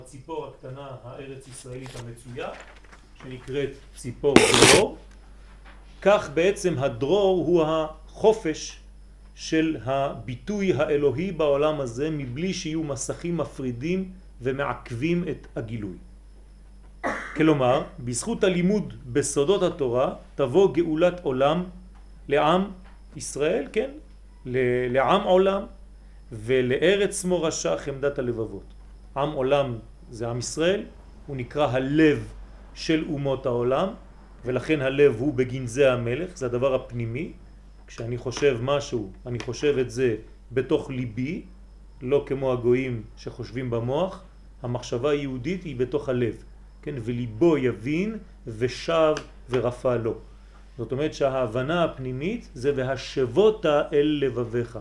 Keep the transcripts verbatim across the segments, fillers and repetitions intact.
הציפור הקטנה הארץ ישראלית המצויה שנקראת ציפור דרור. כך בעצם הדרור הוא החופש של הביטוי האלוהי בעולם הזה מבלי שיהיו מסכים מפרידים ומעכבים את הגילוי. כלומר, בזכות הלימוד בסודות התורה תבוא גאולת עולם לעם ישראל, כן? לעם עולם ולארץ מורשה חמדת הלבבות. עם עולם זה עם ישראל, הוא נקרא הלב של אומות העולם, ולכן הלב הוא בגנזי המלך, זה הדבר הפנימי. כשאני חושב משהו, אני חושב את זה בתוך ליבי, לא כמו הגויים שחושבים במוח. המחשבה היהודית היא בתוך הלב, כן? וליבו יבין ושב ורפא לו. זאת אומרת שההבנה הפנימית זה והשבות אל לבביך.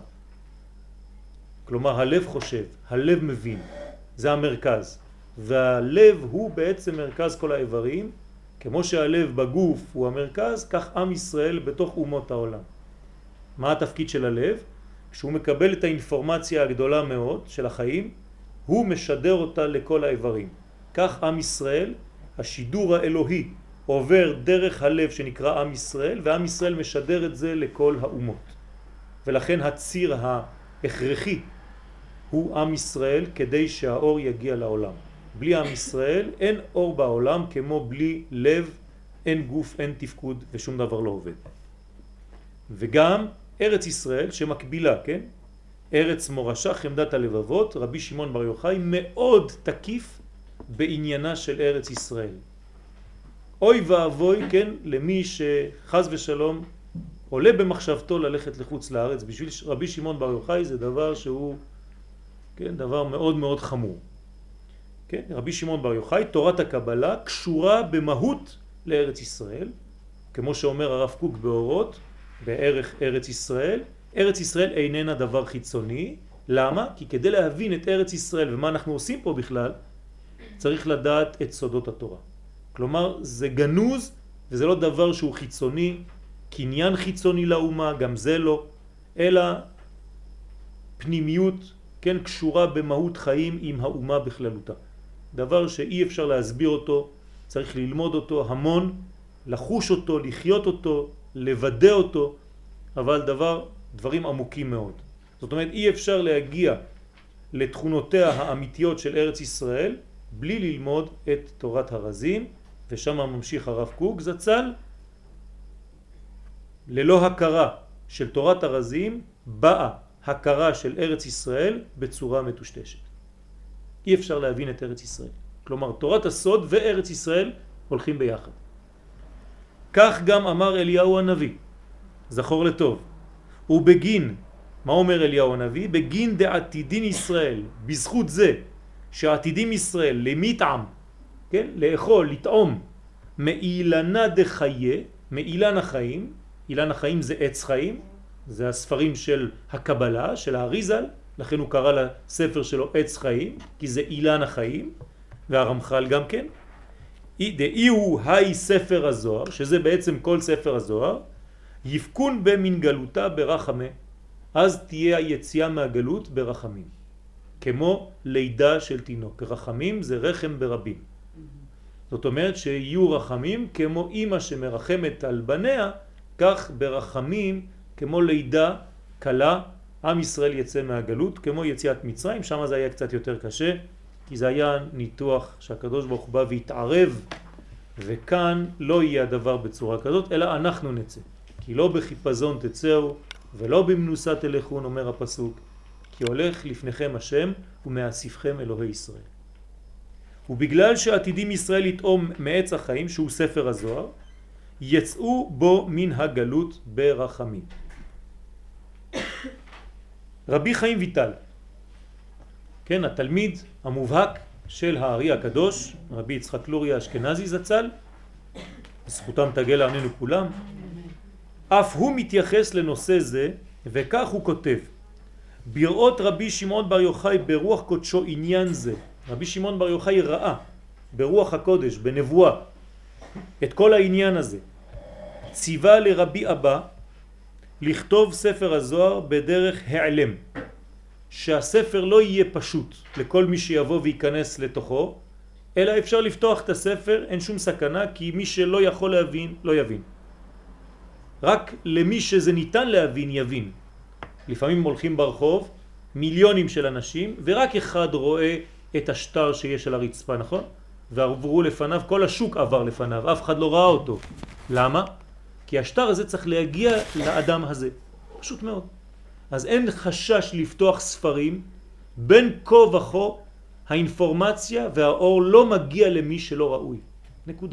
כלומר הלב חושב, הלב מבין, זה המרכז. והלב הוא בעצם מרכז כל האיברים, כמו שהלב בגוף הוא המרכז, כך עם ישראל בתוך אומות העולם. מה התפקיד של הלב? כשהוא מקבל את האינפורמציה הגדולה מאוד של החיים, הוא משדר אותה לכל האיברים. כך עם ישראל, השידור האלוהי עובר דרך הלב שנקרא עם ישראל, ועם ישראל משדר את זה לכל האומות. ולכן הציר ההכרחי הוא עם ישראל כדי שהאור יגיע לעולם. בלי עם ישראל אין אור בעולם, כמו בלי לב אין גוף, אין תפקוד ושום דבר לא עובד. וגם ארץ ישראל שמקבילה, כן? ארץ מורשה חמדת הלבבות, רבי שמעון בר יוחאי מאוד תקיף בעניינה של ארץ ישראל. אוי ואבוי, כן, למי שחז ושלום עולה במחשבתו ללכת לחוץ לארץ. בשביל רבי שמעון בר יוחאי זה דבר שהוא, כן, דבר מאוד מאוד חמור. כן, רבי שמעון בר יוחאי, תורת הקבלה קשורה במהות לארץ ישראל, כמו שאומר הרב קוק באורות, בערך ארץ ישראל. ארץ ישראל איננה דבר חיצוני. למה? כי כדי להבין את ארץ ישראל ומה אנחנו עושים פה בכלל, צריך לדעת את סודות התורה. כלומר, זה גנוז וזה לא דבר שהוא חיצוני, קניין חיצוני לאומה, גם זה לא, אלא פנימיות, כן, קשורה במהות חיים עם האומה בכללותה. דבר שאי אפשר להסביר אותו, צריך ללמוד אותו המון, לחוש אותו, לחיות אותו, לוודא אותו, אבל דבר, דברים עמוקים מאוד. זאת אומרת, אי אפשר להגיע לתכונותיה האמיתיות של ארץ ישראל בלי ללמוד את תורת הרזים, ושם ממשיך הרב קוק זצ"ל, ללא הכרה של תורת הרזים באה הכרה של ארץ ישראל בצורה מטושטשת. אי אפשר להבין את ארץ ישראל. כלומר, תורת הסוד וארץ ישראל הולכים ביחד. כך גם אמר אליהו הנביא, זכור לטוב. ובגין, מה אומר אליהו הנביא? בגין דעתידין ישראל, בזכות זה שעתידים ישראל למטעם, כן? לאכול, לטעום, מאילנה דחיה, מאילן החיים. אילן החיים זה עץ חיים, זה הספרים של הקבלה, של האריזל, לכן הוא קרא לספר שלו עץ חיים, כי זה אילן החיים, והרמח"ל גם כן. דאי הוא היי ספר הזוהר, שזה בעצם כל ספר הזוהר, יפקון במין גלותה ברחמה, אז תהיה היציאה מהגלות ברחמים. כמו לידה של תינוק. רחמים זה רחם ברבים. זאת אומרת שיהיו רחמים כמו אמא שמרחמת על בניה, כך ברחמים כמו לידה קלה, עם ישראל יצא מהגלות, כמו יציאת מצרים. שם זה היה קצת יותר קשה, כי זה היה ניתוח שהקדוש ברוך הוא בא והתערב, וכאן לא יהיה הדבר בצורה כזאת, אלא אנחנו נצא. כי לא בחיפזון תצאו ולא במנוסה תלכון, אומר הפסוק, כי הולך לפניכם השם ומאסיפכם אלוהי ישראל. ובגלל שעתידים ישראל לטעום מעץ החיים, שהוא ספר הזוהר, יצאו בו מן הגלות ברחמים. רבי חיים ויטל, כן, התלמיד המובהק של הארי הקדוש, רבי יצחק לוריה אשכנזי זצ"ל, זכותם תגל עלינו כולם, אף הוא מתייחס לנושא זה, וכך הוא כותב, בראות רבי שמעון בר יוחאי ברוח קודשו עניין זה. רבי שמעון בר יוחאי ראה ברוח הקודש, בנבואה, את כל העניין הזה. ציווה לרבי אבא לכתוב ספר הזוהר בדרך העלם. שהספר לא יהיה פשוט לכל מי שיבוא וייכנס לתוכו, אלא אפשר לפתוח את הספר, אין שום סכנה, כי מי שלא יכול להבין, לא יבין. רק למי שזה ניתן להבין, יבין. לפעמים הולכים ברחוב מיליונים של אנשים, ורק אחד רואה את השטר שיש על הרצפה, נכון? ועברו לפניו, כל השוק עבר לפניו, אף אחד לא ראה אותו. למה? כי השטר הזה צריך להגיע לאדם הזה. פשוט מאוד. אז אין חשש לפתוח ספרים, בין כה וכה האינפורמציה והאור לא מגיע למי שלא ראוי. נקודה.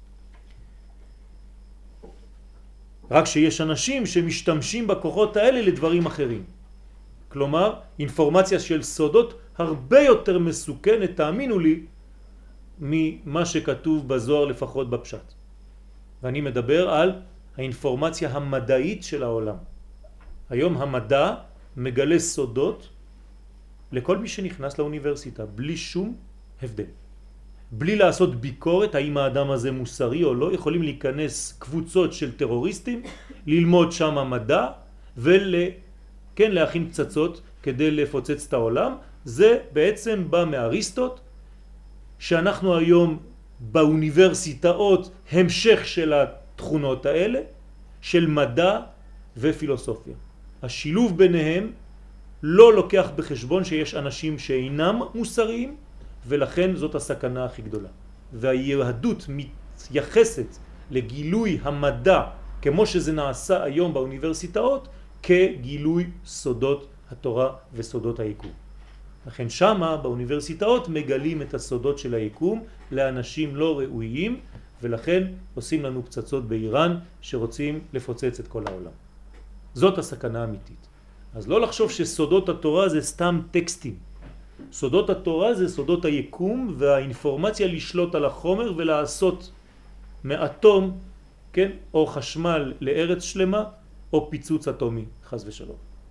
רק שיש אנשים שמשתמשים בכוחות האלה לדברים אחרים. כלומר, אינפורמציה של סודות הרבה יותר מסוכנת, תאמינו לי, ממה שכתוב בזוהר לפחות בפשט. ואני מדבר על האינפורמציה המדעית של העולם. היום המדע מגלה סודות לכל מי שנכנס לאוניברסיטה, בלי שום הבדל. בלי לעשות ביקורת האם האדם הזה מוסרי או לא, יכולים להיכנס קבוצות של טרוריסטים, ללמוד שם המדע ול... כן, להכין פצצות כדי לפוצץ את העולם. זה בעצם בא מאריסטוט, שאנחנו היום באוניברסיטאות המשך של התכונות האלה, של מדע ופילוסופיה. השילוב ביניהם לא לוקח בחשבון שיש אנשים שאינם מוסריים, ולכן זאת הסכנה הכי גדולה. והיהדות מתייחסת לגילוי המדע, כמו שזה נעשה היום באוניברסיטאות, כגילוי סודות התורה וסודות היקום. לכן שמה באוניברסיטאות מגלים את הסודות של היקום לאנשים לא ראויים, ולכן עושים לנו פצצות באיראן שרוצים לפוצץ את כל העולם. זאת הסכנה האמיתית. אז לא לחשוב שסודות התורה זה סתם טקסטים. סודות התורה זה סודות היקום והאינפורמציה לשלוט על החומר ולעשות מאטום, כן, או חשמל לארץ שלמה, או פיצוץ אטומי, חס ושלום.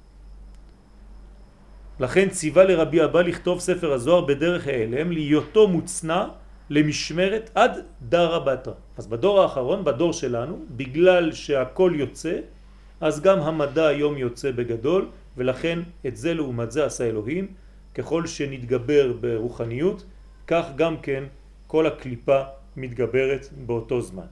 לכן ציווה לרבי אבא לכתוב ספר הזוהר בדרך העלם, להיותו מוצנע למשמרת עד דרא בתרא. אז בדור האחרון, בדור שלנו, בגלל שהכל יוצא, אז גם המדע היום יוצא בגדול, ולכן את זה לעומת זה עשה אלוהים. ככל שנתגבר ברוחניות, כך גם כן כל הקליפה מתגברת באותו זמן.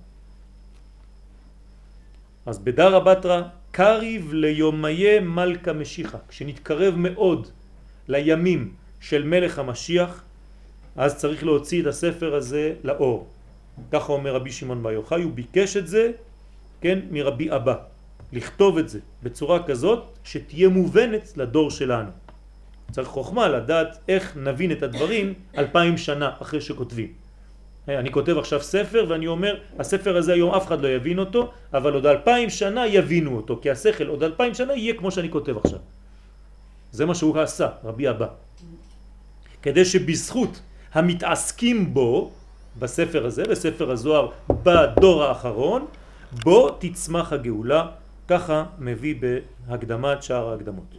אז בדרא בתרא קריב ליומיה מלכה משיחה, כשנתקרב מאוד לימים של מלך המשיח, אז צריך להוציא את הספר הזה לאור. ככה אומר רבי שמעון בר יוחאי, הוא ביקש את זה, כן, מרבי אבא, לכתוב את זה בצורה כזאת שתהיה מובנת לדור שלנו. צריך חוכמה לדעת איך נבין את הדברים אלפיים שנה אחרי שכותבים. אני כותב עכשיו ספר ואני אומר, הספר הזה היום אף אחד לא יבין אותו, אבל עוד אלפיים שנה יבינו אותו, כי השכל עוד אלפיים שנה יהיה כמו שאני כותב עכשיו. זה מה שהוא עשה, רבי אבא. כדי שבזכות המתעסקים בו, בספר הזה, בספר הזוהר, בדור האחרון, בו תצמח הגאולה, ככה מביא בהקדמת שער ההקדמות.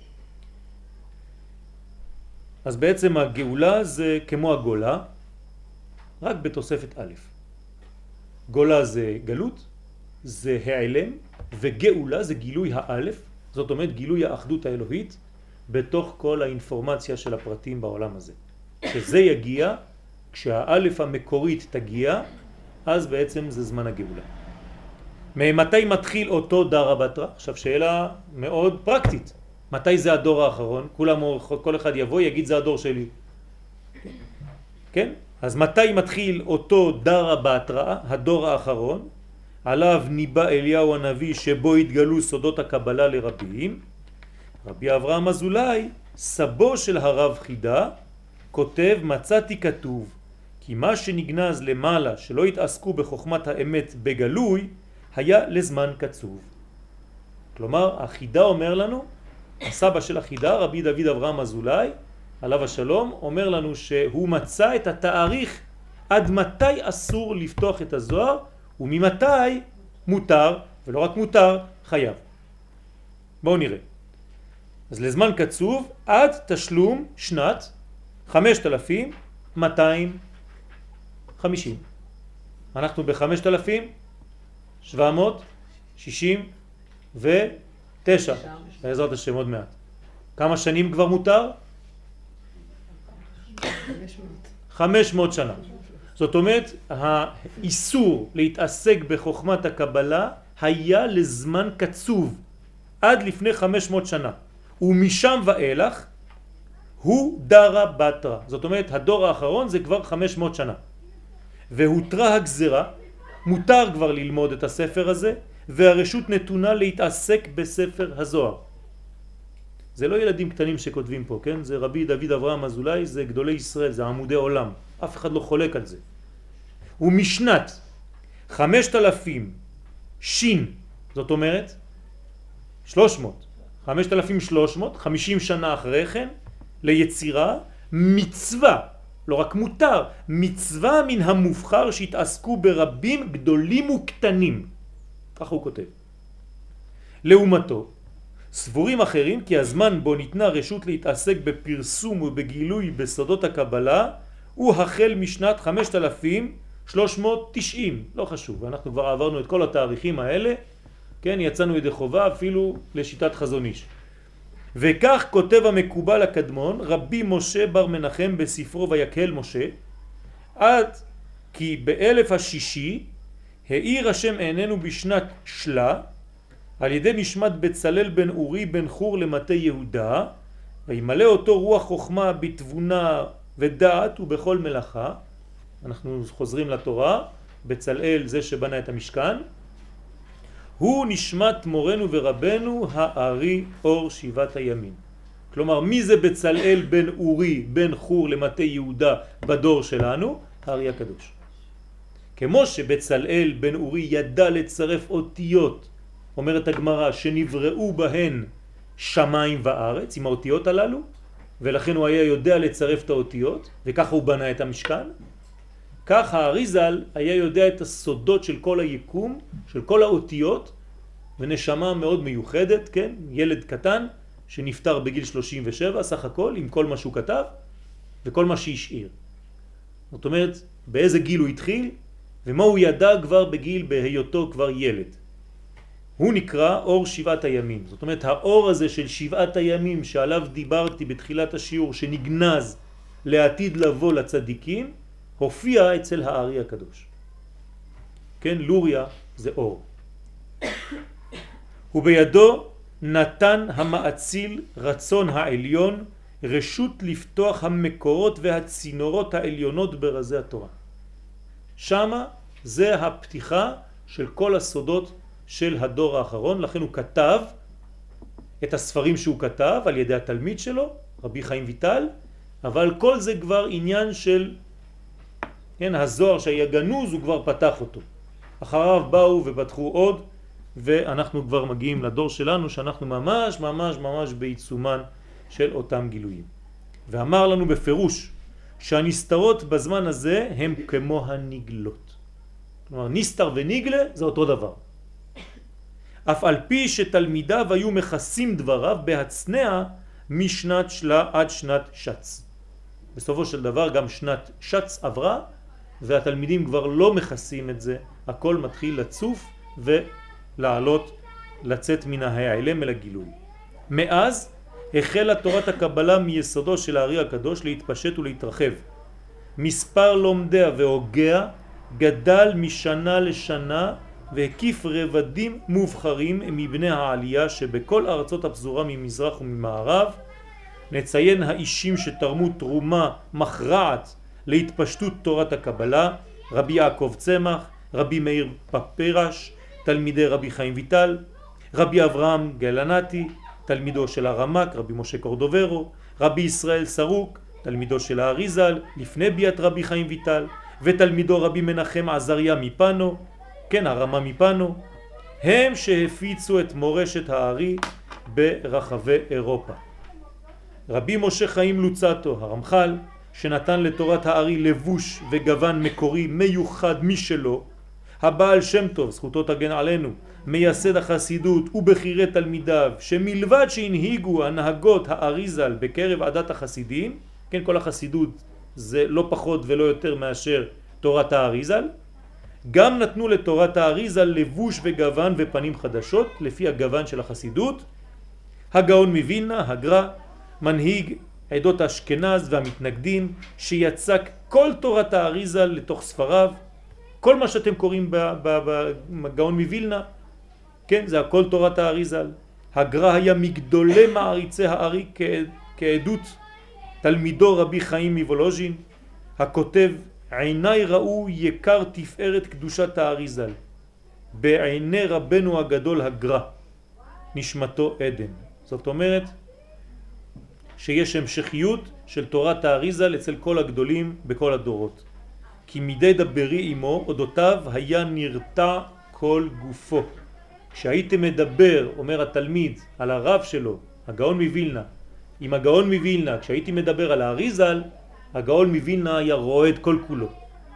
אז בעצם הגאולה זה כמו הגולה, רק בתוספת א'. גולה זה גלות, זה העלם, וגאולה זה גילוי האלף, זאת אומרת גילוי האחדות האלוהית, בתוך כל האינפורמציה של הפרטים בעולם הזה. כשזה יגיע, כשהאלף המקורית תגיע, אז בעצם זה זמן הגאולה. מתי מתחיל אותו דרא בתרא? עכשיו שאלה מאוד פרקטית. מתי זה הדור האחרון? כולם, כל אחד יבוא, יגיד זה הדור שלי. כן? אז מתי מתחיל אותו דרא בתרא, הדור האחרון, עליו ניבא אליהו הנביא שבו התגלו סודות הקבלה לרבים? רבי אברהם אזולאי, סבו של הרב חידה, כותב, מצאתי כתוב, כי מה שנגנז למעלה שלא התעסקו בחוכמת האמת בגלוי, היה לזמן קצוב. כלומר, החידה אומר לנו, הסבא של החידה, רבי דוד אברהם אזולאי, עליו השלום, אומר לנו שהוא מצא את התאריך עד מתי אסור לפתוח את הזוהר, וממתי מותר, ולא רק מותר, חייב. בואו נראה. אז לזמן קצוב עד תשלום שנת חמשת אלפים מאתיים וחמישים. אנחנו ב-חמשת אלפים שבע מאות שישים ותשע, בעזרת השם עוד מעט. כמה שנים כבר מותר? חמש מאות שנה. זאת אומרת, האיסור להתעסק בחוכמת הקבלה היה לזמן קצוב, עד לפני חמש מאות שנה. ומשם ואילך הוא דרה בתרה. זאת אומרת, הדור האחרון זה כבר חמש מאות שנה. והותרה הגזרה, מותר כבר ללמוד את הספר הזה, והרשות נתונה להתעסק בספר הזוהר. זה לא ילדים קטנים שכותבים פה, כן? זה רבי דוד אברהם אזולאי, זה גדולי ישראל, זה עמודי עולם. אף אחד לא חולק על זה. ומשנת חמשת אלפים שין, זאת אומרת, שלוש מאות, חמשת אלפים שלוש מאות, חמישים שנה אחרי כן, ליצירה, מצווה, לא רק מותר, מצווה מן המובחר שהתעסקו ברבים גדולים וקטנים. כך הוא כותב. לעומתו, סבורים אחרים כי הזמן בו ניתנה רשות להתעסק בפרסום ובגילוי בסודות הקבלה הוא החל משנת חמשת אלפים שלוש מאות תשעים, לא חשוב, אנחנו כבר עברנו את כל התאריכים האלה, כן, יצאנו ידי חובה אפילו לשיטת חזון איש. וכך כותב המקובל הקדמון רבי משה בר מנחם בספרו ויקהל משה, עד כי באלף השישי העיר השם עינינו בשנת שלה על ידי נשמת בצלאל בן אורי בן חור למטה יהודה, וימלא אותו רוח חוכמה בתבונה ודעת ובכל מלאכה. אנחנו חוזרים לתורה, בצלאל זה שבנה את המשכן, הוא נשמת מורנו ורבנו הארי אור שבעת הימים. כלומר, מי זה בצלאל בן אורי בן חור למטה יהודה בדור שלנו? הארי הקדוש. כמו שבצלאל בן אורי ידע לצרף אותיות, אומרת הגמרא, שנבראו בהן שמיים וארץ, עם האותיות הללו, ולכן הוא היה יודע לצרף את האותיות, וככה הוא בנה את המשכן. כך האריזל היה יודע את הסודות של כל היקום, של כל האותיות, ונשמה מאוד מיוחדת, כן? ילד קטן שנפטר בגיל שלושים ושבע, סך הכל, עם כל מה שהוא כתב, וכל מה שהשאיר. זאת אומרת, באיזה גיל הוא התחיל, ומה הוא ידע כבר בגיל בהיותו כבר ילד. הוא נקרא אור שבעת הימים. זאת אומרת, האור הזה של שבעת הימים שעליו דיברתי בתחילת השיעור, שנגנז לעתיד לבוא לצדיקים, הופיע אצל הארי הקדוש. כן, לוריה זה אור. ובידו נתן המאציל רצון העליון רשות לפתוח המקורות והצינורות העליונות ברזי התורה. שמה זה הפתיחה של כל הסודות של הדור האחרון, לכן הוא כתב את הספרים שהוא כתב על ידי התלמיד שלו, רבי חיים ויטל, אבל כל זה כבר עניין של, כן, הזוהר שהיה גנוז, הוא כבר פתח אותו. אחריו באו ופתחו עוד, ואנחנו כבר מגיעים לדור שלנו, שאנחנו ממש ממש ממש בעיצומן של אותם גילויים. ואמר לנו בפירוש שהנסתרות בזמן הזה הם כמו הנגלות. כלומר, נסתר ונגלה זה אותו דבר. אף על פי שתלמידיו היו מכסים דבריו בהצנע משנת שלה עד שנת שץ. בסופו של דבר גם שנת שץ עברה, והתלמידים כבר לא מכסים את זה, הכל מתחיל לצוף ולעלות, לצאת מן ההיעלם אל הגילוי. מאז החלה תורת הקבלה מיסודו של הארי הקדוש להתפשט ולהתרחב. מספר לומדיה והוגיה גדל משנה לשנה והקיף רבדים מובחרים מבני העלייה שבכל ארצות הפזורה ממזרח וממערב. נציין האישים שתרמו תרומה מכרעת להתפשטות תורת הקבלה, רבי יעקב צמח, רבי מאיר פפרש, תלמידי רבי חיים ויטל, רבי אברהם גלנתי, תלמידו של הרמק, רבי משה קורדוברו, רבי ישראל סרוק, תלמידו של האריזל, לפני ביאת רבי חיים ויטל, ותלמידו רבי מנחם עזריה מפנו, כן, הרמה מפנו, הם שהפיצו את מורשת הארי ברחבי אירופה. רבי משה חיים לוצטו, הרמח"ל, שנתן לתורת הארי לבוש וגוון מקורי מיוחד משלו, הבעל שם טוב, זכותו תגן עלינו, מייסד החסידות ובחירי תלמידיו, שמלבד שהנהיגו הנהגות האריזל בקרב עדת החסידים, כן, כל החסידות זה לא פחות ולא יותר מאשר תורת האריזל, גם נתנו לתורת האריזל לבוש וגוון ופנים חדשות לפי הגוון של החסידות. הגאון מווילנה, הגר"א, מנהיג עדות אשכנז והמתנגדים, שיצק כל תורת האריזה לתוך ספריו. כל מה שאתם קוראים בגאון מווילנה, כן, זה הכל תורת האריזה. הגר"א היה מגדולי מעריצי הארי כעדות תלמידו רבי חיים מוולוז'ין, הכותב עיניי ראו יקר תפארת קדושת האריזל בעיני רבנו הגדול הגר"א, נשמתו עדן. זאת אומרת שיש המשכיות של תורת האריזל אצל כל הגדולים בכל הדורות. כי מדי דברי עמו אודותיו היה נרתע כל גופו. כשהייתם מדבר, אומר התלמיד, על הרב שלו, הגאון מווילנה, עם הגאון מווילנה, כשהייתי מדבר על האריזל, הגאון מווילנה היה רועד כל כולו.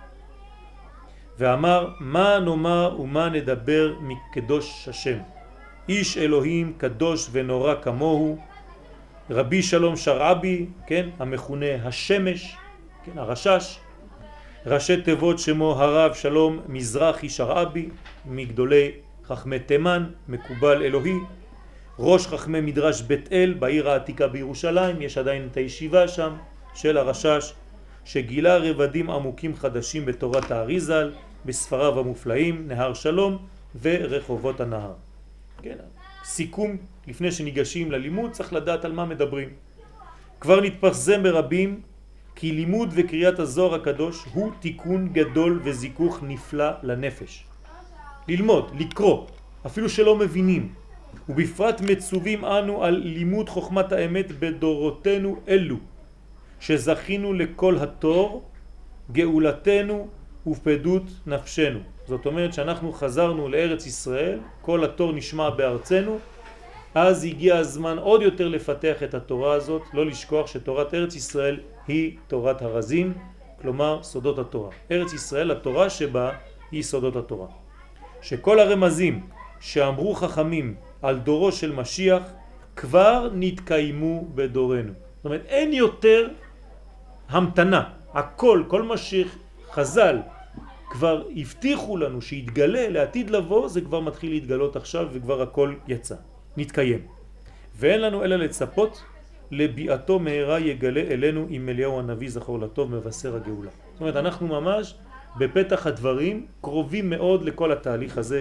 ואמר, מה נאמר ומה נדבר מקדוש השם? איש אלוהים קדוש ונורא כמוהו, רבי שלום שרעבי, כן, המכונה השמש, כן, הרשש, ראשי תיבות שמו הרב שלום מזרחי שרעבי, מגדולי חכמי תימן, מקובל אלוהי, ראש חכמי מדרש בית אל בעיר העתיקה בירושלים, יש עדיין את הישיבה שם של הרשש, שגילה רבדים עמוקים חדשים בתורת האריזל, בספריו המופלאים, נהר שלום ורחובות הנהר. כן, סיכום, לפני שניגשים ללימוד צריך לדעת על מה מדברים. כבר נתפרסם ברבים כי לימוד וקריאת הזוהר הקדוש הוא תיקון גדול וזיכוך נפלא לנפש. ללמוד, לקרוא, אפילו שלא מבינים, ובפרט מצווים אנו על לימוד חוכמת האמת בדורותינו אלו, שזכינו לכל התור, גאולתנו ופדות נפשנו. זאת אומרת שאנחנו חזרנו לארץ ישראל, כל התור נשמע בארצנו, אז הגיע הזמן עוד יותר לפתח את התורה הזאת, לא לשכוח שתורת ארץ ישראל היא תורת הרזים, כלומר סודות התורה. ארץ ישראל, התורה שבה היא סודות התורה. שכל הרמזים שאמרו חכמים על דורו של משיח כבר נתקיימו בדורנו. זאת אומרת, אין יותר המתנה. הכל, כל מה שחז"ל כבר הבטיחו לנו שיתגלה לעתיד לבוא, זה כבר מתחיל להתגלות עכשיו וכבר הכל יצא, נתקיים. ואין לנו אלא לצפות לביאתו מהרה יגלה אלינו עם אליהו הנביא זכור לטוב מבשר הגאולה. זאת אומרת, אנחנו ממש בפתח הדברים קרובים מאוד לכל התהליך הזה,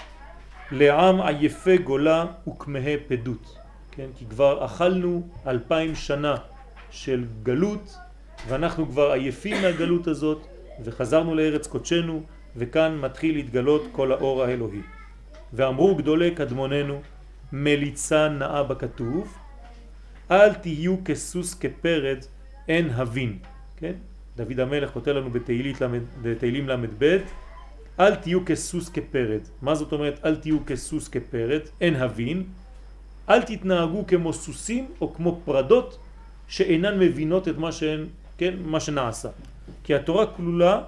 לעם עייפי גולה וכמהי פדות. כן? כי כבר אכלנו אלפיים שנה של גלות, ואנחנו כבר עייפים מהגלות הזאת, וחזרנו לארץ קודשנו, וכאן מתחיל להתגלות כל האור האלוהי. ואמרו גדולי קדמוננו, מליצה נאה בכתוב, אל תהיו כסוס כפרד, אין הבין. כן? דוד המלך כותב לנו בתהילים למד ב', אל תהיו כסוס כפרד. מה זאת אומרת אל תהיו כסוס כפרד? אין הבין. אל תתנהגו כמו סוסים או כמו פרדות שאינן מבינות את מה שהן, כן, מה שנעשה. כי התורה כלולה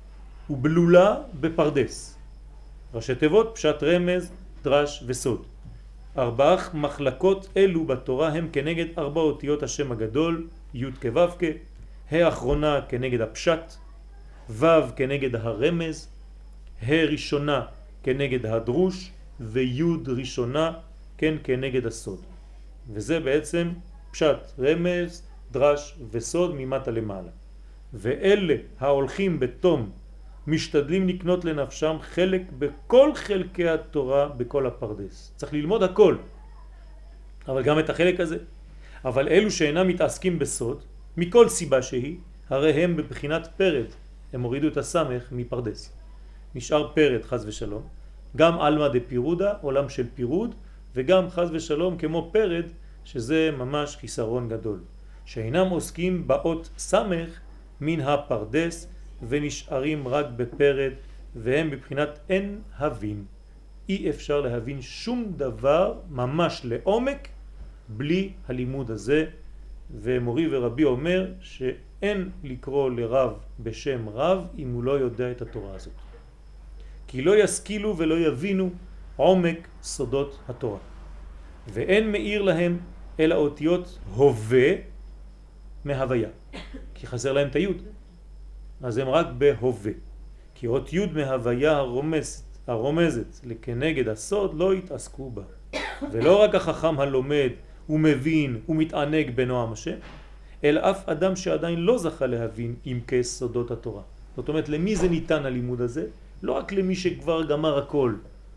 ובלולה בפרדס. ראשי תיבות, פשט רמז, דרש וסוד. ארבעה מחלקות אלו בתורה הם כנגד ארבע אותיות השם הגדול, י' כו' כ', האחרונה כנגד הפשט, ו' כנגד הרמז, ה' ראשונה כנגד הדרוש, וי' ראשונה כן כנגד הסוד. וזה בעצם פשט, רמז, דרש וסוד ממטה למעלה. ואלה ההולכים בתום משתדלים לקנות לנפשם חלק בכל חלקי התורה בכל הפרדס. צריך ללמוד הכל, אבל גם את החלק הזה. אבל אלו שאינם מתעסקים בסוד, מכל סיבה שהיא, הרי הם בבחינת פרד. הם הורידו את הסמך מפרדס. נשאר פרד חז ושלום. גם אלמה דה פירודה, עולם של פירוד, וגם חז ושלום כמו פרד, שזה ממש חיסרון גדול. שאינם עוסקים באות סמך מן הפרדס, ונשארים רק בפרד, והם בבחינת אין הבין. אי אפשר להבין שום דבר ממש לעומק בלי הלימוד הזה. ומורי ורבי אומר שאין לקרוא לרב בשם רב אם הוא לא יודע את התורה הזאת. כי לא ישכילו ולא יבינו עומק סודות התורה. ואין מאיר להם אלא אותיות הווה מהוויה. כי חסר להם את היוד. אז הם רק בהווה. כי אות יוד מהוויה הרומזת, הרומזת לכנגד הסוד לא יתעסקו בה. ולא רק החכם הלומד הוא מבין, הוא מתענג בנועם השם, אלא אף אדם שעדיין לא זכה להבין עם כסודות התורה. זאת אומרת, למי זה ניתן הלימוד הזה? לא רק למי שכבר גמר הכל,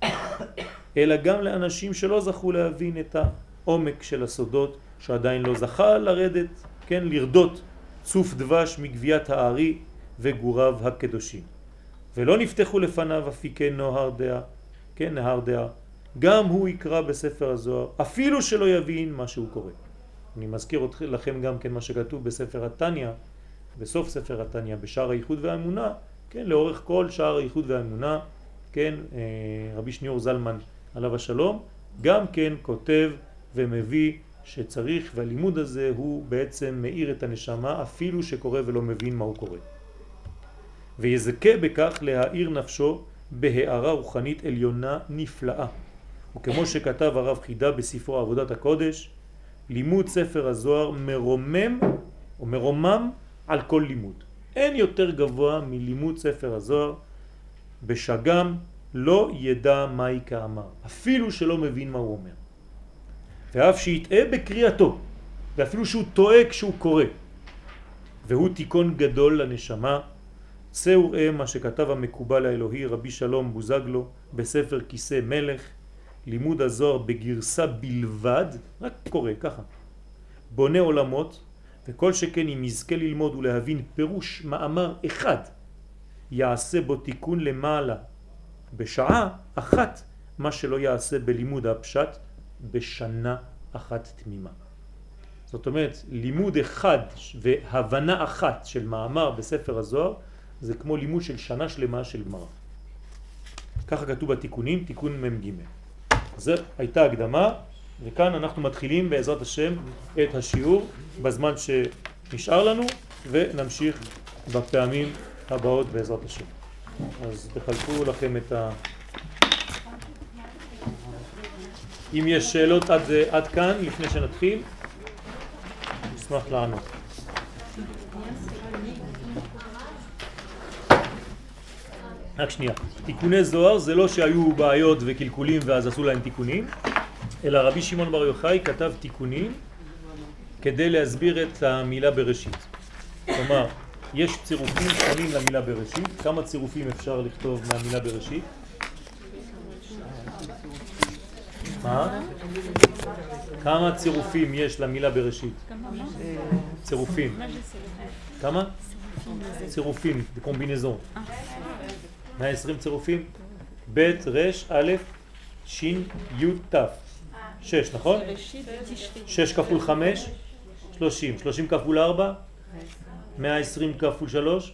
אלא גם לאנשים שלא זכו להבין את העומק של הסודות, שעדיין לא זכה לרדת, כן, לרדות צוף דבש מגביית הארי וגוריו הקדושים. ולא נפתחו לפניו אפיקי נהר דעה, כן, נהר דעה. גם הוא יקרא בספר הזוהר, אפילו שלא יבין מה שהוא קורא. אני מזכיר לכם גם כן מה שכתוב בספר התניא, בסוף ספר התניא, בשער הייחוד והאמונה, כן, לאורך כל שער הייחוד והאמונה, כן, רבי שניאור זלמן עליו השלום, גם כן כותב ומביא שצריך, והלימוד הזה הוא בעצם מאיר את הנשמה אפילו שקורא ולא מבין מה הוא קורא. ויזכה בכך להאיר נפשו בהארה רוחנית עליונה נפלאה. וכמו שכתב הרב חידה בספרו עבודת הקודש, לימוד ספר הזוהר מרומם או מרומם על כל לימוד. אין יותר גבוה מלימוד ספר הזוהר, בשגם לא ידע מהי כאמר, אפילו שלא מבין מה הוא אומר. ואף שיטעה בקריאתו, ואפילו שהוא טועה כשהוא קורא. והוא תיקון גדול לנשמה. צאו ראה מה שכתב המקובל האלוהי רבי שלום בוזגלו בספר כיסא מלך, לימוד הזוהר בגרסה בלבד, רק קורא ככה, בונה עולמות, וכל שכן אם יזכה ללמוד ולהבין פירוש מאמר אחד, יעשה בו תיקון למעלה בשעה אחת, מה שלא יעשה בלימוד הפשט בשנה אחת תמימה. זאת אומרת, לימוד אחד והבנה אחת של מאמר בספר הזוהר, זה כמו לימוד של שנה שלמה של גמרא. ככה כתוב בתיקונים, תיקון ממ"ג. זו הייתה הקדמה, וכאן אנחנו מתחילים בעזרת השם את השיעור בזמן שנשאר לנו, ונמשיך בפעמים הבאות בעזרת השם. אז תחלקו לכם את ה... אם יש שאלות עד, עד כאן, לפני שנתחיל, נשמח לענות. רק שנייה, תיקוני זוהר זה לא שהיו בעיות וקלקולים ואז עשו להם תיקונים, אלא רבי שמעון בר יוחאי כתב תיקונים כדי להסביר את המילה בראשית. כלומר, יש צירופים שונים למילה בראשית. כמה צירופים אפשר לכתוב מהמילה בראשית? מה? כמה צירופים יש למילה בראשית? צירופים. כמה? צירופים, קומבינזון. מאה ועשרים צירופים? ב' ר' א' ש' י' ת'. שש, נכון? שש כפול חמש? שלושים. שלושים כפול ארבע? מאה ועשרים כפול שלוש?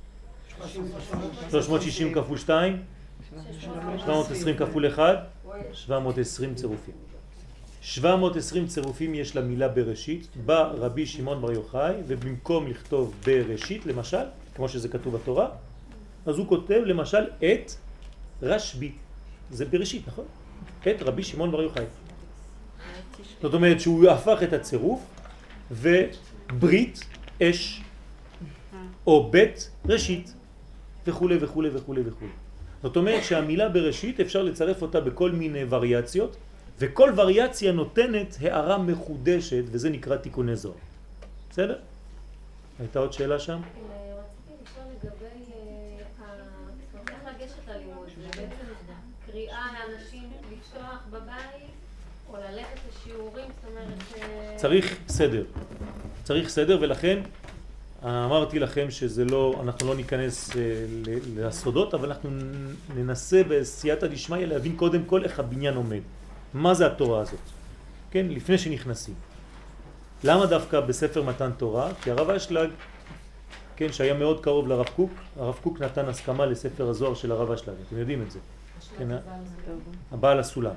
שלוש מאות שישים כפול שתיים? שבע מאות ועשרים כפול אחד? שבע מאות ועשרים צירופים. שבע מאות ועשרים צירופים יש למילה בראשית. בא רבי שמעון בר יוחאי, ובמקום לכתוב בראשית, למשל, כמו שזה כתוב בתורה, אז הוא כותב למשל את רשב"י. זה בראשית, נכון? את רבי שמעון בר יוחאי. זאת אומרת שהוא הפך את הצירוף, וברית אש, או בית ראשית, וכו' וכו' וכו' וכו'. זאת אומרת שהמילה בראשית אפשר לצרף אותה בכל מיני וריאציות, וכל וריאציה נותנת הערה מחודשת, וזה נקרא תיקוני זוהר. בסדר? הייתה עוד שאלה שם? רציתי לשאול לגבי איך לגשת ללימוד. זה בעצם קריאה לאנשים לפתוח בבית, או ללכת לשיעורים, זאת אומרת... צריך סדר. צריך סדר, ולכן אמרתי לכם שזה לא, אנחנו לא ניכנס לסודות, אבל אנחנו ננסה בסייעתא דשמיא להבין קודם כל איך הבניין עומד. מה זה התורה הזאת? כן, לפני שנכנסים. למה דווקא בספר מתן תורה? כי הרב אשלג, כן, שהיה מאוד קרוב לרב קוק, הרב קוק נתן הסכמה לספר הזוהר של הרב אשלג, אתם יודעים את זה. כן, הבעל הסולם.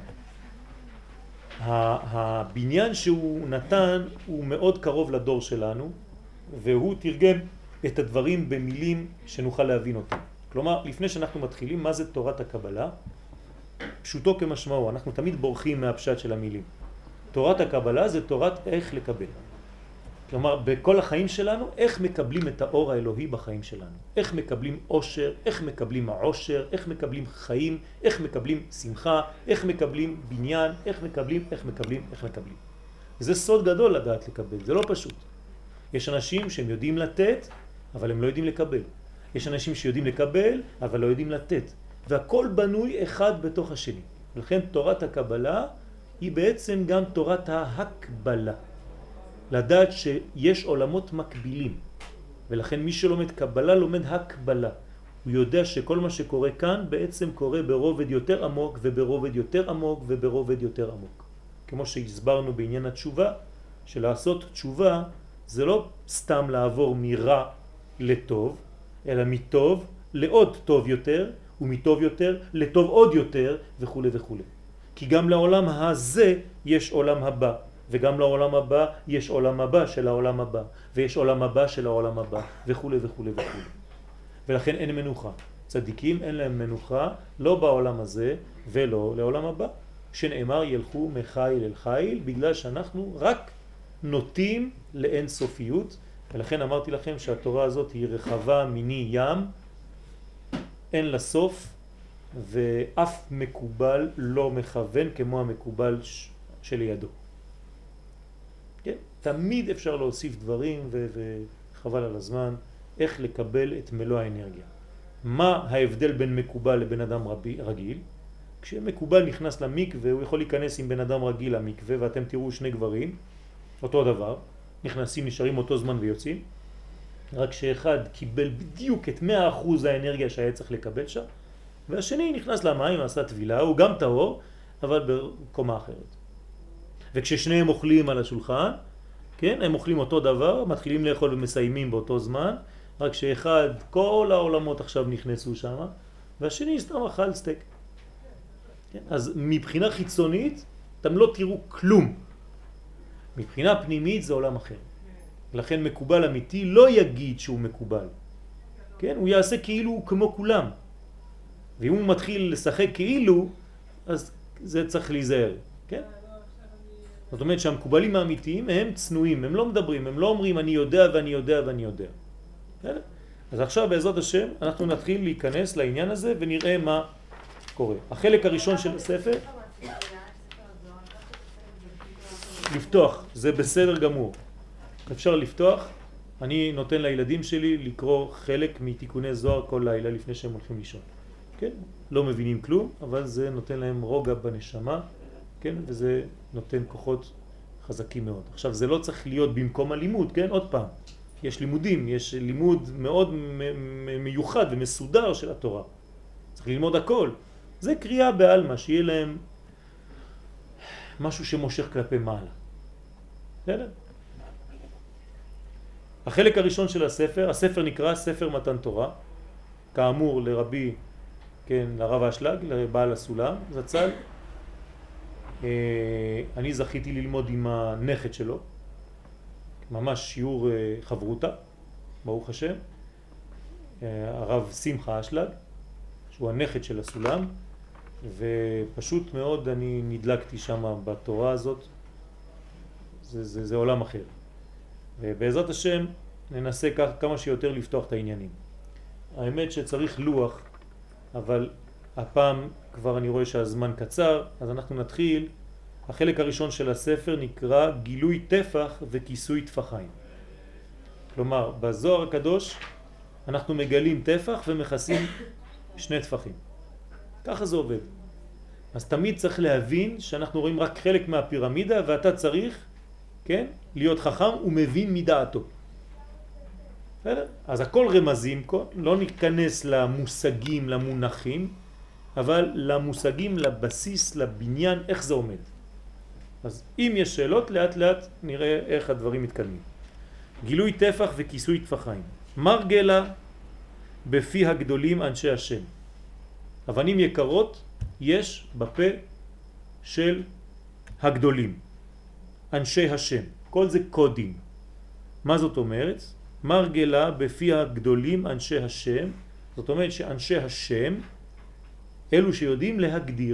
הבניין שהוא נתן הוא מאוד קרוב לדור שלנו, והוא תרגם את הדברים במילים שנוכל להבין אותם. כלומר, לפני שאנחנו מתחילים, מה זה תורת הקבלה? פשוטו כמשמעו, אנחנו תמיד בורחים מהפשט של המילים. תורת הקבלה זה תורת איך לקבל. כלומר, בכל החיים שלנו, איך מקבלים את האור האלוהי בחיים שלנו. איך מקבלים עושר, איך מקבלים העושר, איך מקבלים חיים, איך מקבלים שמחה, איך מקבלים בניין, איך מקבלים, איך מקבלים, איך מקבלים. זה סוד גדול לדעת לקבל, זה לא פשוט. יש אנשים שהם יודעים לתת, אבל הם לא יודעים לקבל. יש אנשים שיודעים לקבל, אבל לא יודעים לתת. והכל בנוי אחד בתוך השני. ולכן תורת הקבלה היא בעצם גם תורת ההקבלה. לדעת שיש עולמות מקבילים. ולכן מי שלומד קבלה לומד הקבלה. הוא יודע שכל מה שקורה כאן בעצם קורה ברובד יותר עמוק וברובד יותר עמוק וברובד יותר עמוק. כמו שהסברנו בעניין התשובה, שלעשות תשובה זה לא סתם לעבור מרע לטוב, אלא מטוב לעוד טוב יותר, ומטוב יותר לטוב עוד יותר וכו' וכו'. כי גם לעולם הזה יש עולם הבא, וגם לעולם הבא יש עולם הבא של העולם הבא, ויש עולם הבא של העולם הבא וכו' וכו' וכו'. ולכן אין מנוחה. צדיקים אין להם מנוחה, לא בעולם הזה ולא לעולם הבא. שנאמר ילכו מחיל אל חיל, בגלל שאנחנו רק נוטים לאין סופיות, ולכן אמרתי לכם שהתורה הזאת היא רחבה מיני ים, אין לה סוף, ואף מקובל לא מכוון כמו המקובל שלידו. כן? תמיד אפשר להוסיף דברים ו- וחבל על הזמן איך לקבל את מלוא האנרגיה. מה ההבדל בין מקובל לבן אדם רבי, רגיל? כשמקובל נכנס למקווה הוא יכול להיכנס עם בן אדם רגיל למקווה, ואתם תראו שני גברים אותו דבר, נכנסים, נשארים אותו זמן ויוצאים, רק שאחד קיבל בדיוק את מאה אחוז האנרגיה שהיה צריך לקבל שם, והשני נכנס למים, עשה טבילה, הוא גם טהור, אבל בקומה אחרת. וכששניהם אוכלים על השולחן, כן, הם אוכלים אותו דבר, מתחילים לאכול ומסיימים באותו זמן, רק שאחד, כל העולמות עכשיו נכנסו שם, והשני סתם אכל סטייק. כן? אז מבחינה חיצונית, אתם לא תראו כלום. מבחינה פנימית זה עולם אחר. לכן מקובל אמיתי לא יגיד שהוא מקובל. כן? הוא יעשה כאילו הוא כמו כולם. ואם הוא מתחיל לשחק כאילו, אז זה צריך להיזהר. כן? זאת אומרת שהמקובלים האמיתיים הם צנועים, הם לא מדברים, הם לא אומרים אני יודע ואני יודע ואני יודע. בסדר? אז עכשיו בעזרת השם אנחנו נתחיל להיכנס לעניין הזה ונראה מה קורה. החלק הראשון של הספר, לפתוח, זה בסדר גמור. אפשר לפתוח, אני נותן לילדים שלי לקרוא חלק מתיקוני זוהר כל לילה לפני שהם הולכים לישון. כן? לא מבינים כלום, אבל זה נותן להם רוגע בנשמה, כן? וזה נותן כוחות חזקים מאוד. עכשיו זה לא צריך להיות במקום הלימוד, כן? עוד פעם. יש לימודים, יש לימוד מאוד מיוחד ומסודר של התורה. צריך ללמוד הכל. זה קריאה בעלמא, שיהיה להם משהו שמושך כלפי מעלה. בסדר? החלק הראשון של הספר, הספר נקרא ספר מתן תורה, כאמור לרבי, כן, לרב אשלג, לבעל הסולם, זצ"ל. אני זכיתי ללמוד עם הנכד שלו, ממש שיעור חברותה, ברוך השם, הרב שמחה אשלג, שהוא הנכד של הסולם, ופשוט מאוד אני נדלקתי שם בתורה הזאת, זה, זה, זה עולם אחר. ובעזרת השם ננסה כך, כמה שיותר לפתוח את העניינים. האמת שצריך לוח, אבל הפעם כבר אני רואה שהזמן קצר, אז אנחנו נתחיל. החלק הראשון של הספר נקרא גילוי טפח וכיסוי טפחיים. כלומר, בזוהר הקדוש אנחנו מגלים טפח ומכסים שני טפחים. ככה זה עובד. אז תמיד צריך להבין שאנחנו רואים רק חלק מהפירמידה, ואתה צריך, כן, להיות חכם ומבין מדעתו. בסדר? אז הכל רמזים, לא ניכנס למושגים, למונחים, אבל למושגים, לבסיס, לבניין, איך זה עומד. אז אם יש שאלות, לאט לאט נראה איך הדברים מתקדמים. גילוי טפח וכיסוי טפחיים. מרגלה בפי הגדולים אנשי השם. אבנים יקרות יש בפה של הגדולים, אנשי השם. כל זה קודים. מה זאת אומרת? מרגלה בפי הגדולים אנשי השם. זאת אומרת שאנשי השם אלו שיודעים להגדיר.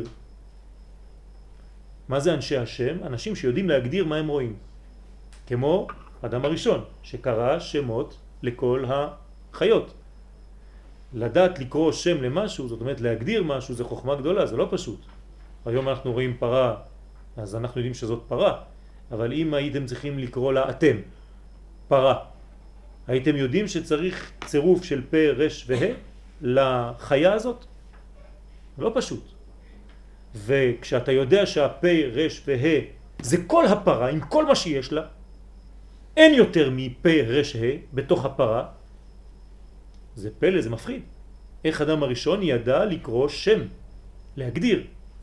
מה זה אנשי השם? אנשים שיודעים להגדיר מה הם רואים. כמו אדם הראשון שקרא שמות לכל החיות. לדעת לקרוא שם למשהו, זאת אומרת להגדיר משהו, זה חוכמה גדולה, זה לא פשוט. היום אנחנו רואים פרה, אז אנחנו יודעים שזאת פרה, אבל אם הייתם צריכים לקרוא לה אתם, פרה, הייתם יודעים שצריך צירוף של פה, רש והה לחיה הזאת? לא פשוט. וכשאתה יודע שהפה, רש והה זה כל הפרה, עם כל מה שיש לה, אין יותר מפה, רש, הה בתוך הפרה, זה פלא, זה מפחיד. איך אדם הראשון ידע לקרוא שם, להגדיר?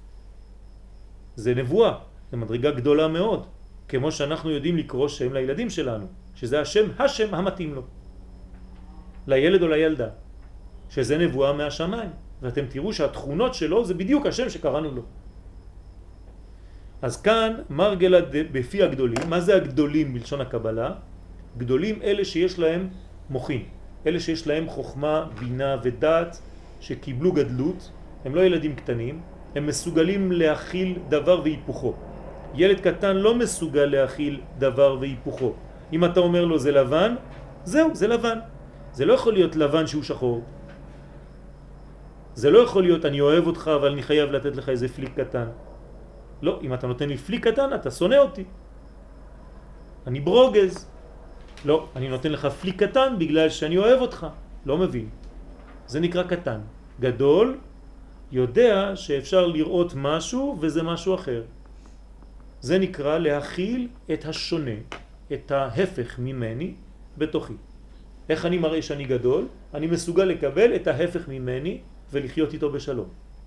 זה נבואה, זה מדרגה גדולה מאוד, כמו שאנחנו יודעים לקרוא שם לילדים שלנו, שזה השם, השם המתאים לו, לילד או לילדה, שזה נבואה מהשמיים, ואתם תראו שהתכונות שלו זה בדיוק השם שקראנו לו. אז כאן מרגלה בפי הגדולים. מה זה הגדולים בלשון הקבלה? גדולים אלה שיש להם מוחין, אלה שיש להם חוכמה, בינה ודעת, שקיבלו גדלות, הם לא ילדים קטנים, הם מסוגלים להכיל דבר והיפוכו. ילד קטן לא מסוגל להכיל דבר והיפוכו. אם אתה אומר לו זה לבן, זהו, זה לבן. זה לא יכול להיות לבן שהוא שחור. זה לא יכול להיות אני אוהב אותך אבל אני חייב לתת לך איזה פליק קטן. לא, אם אתה נותן לי פליק קטן אתה שונא אותי. אני ברוגז. לא, אני נותן לך פליק קטן בגלל שאני אוהב אותך. לא מבין. זה נקרא קטן. גדול יודע שאפשר לראות משהו וזה משהו אחר. זה נקרא להכיל את השונה, את ההפך ממני בתוכי. איך אני מראה שאני גדול? אני מסוגל לקבל את ההפך ממני ולחיות איתו בשלום.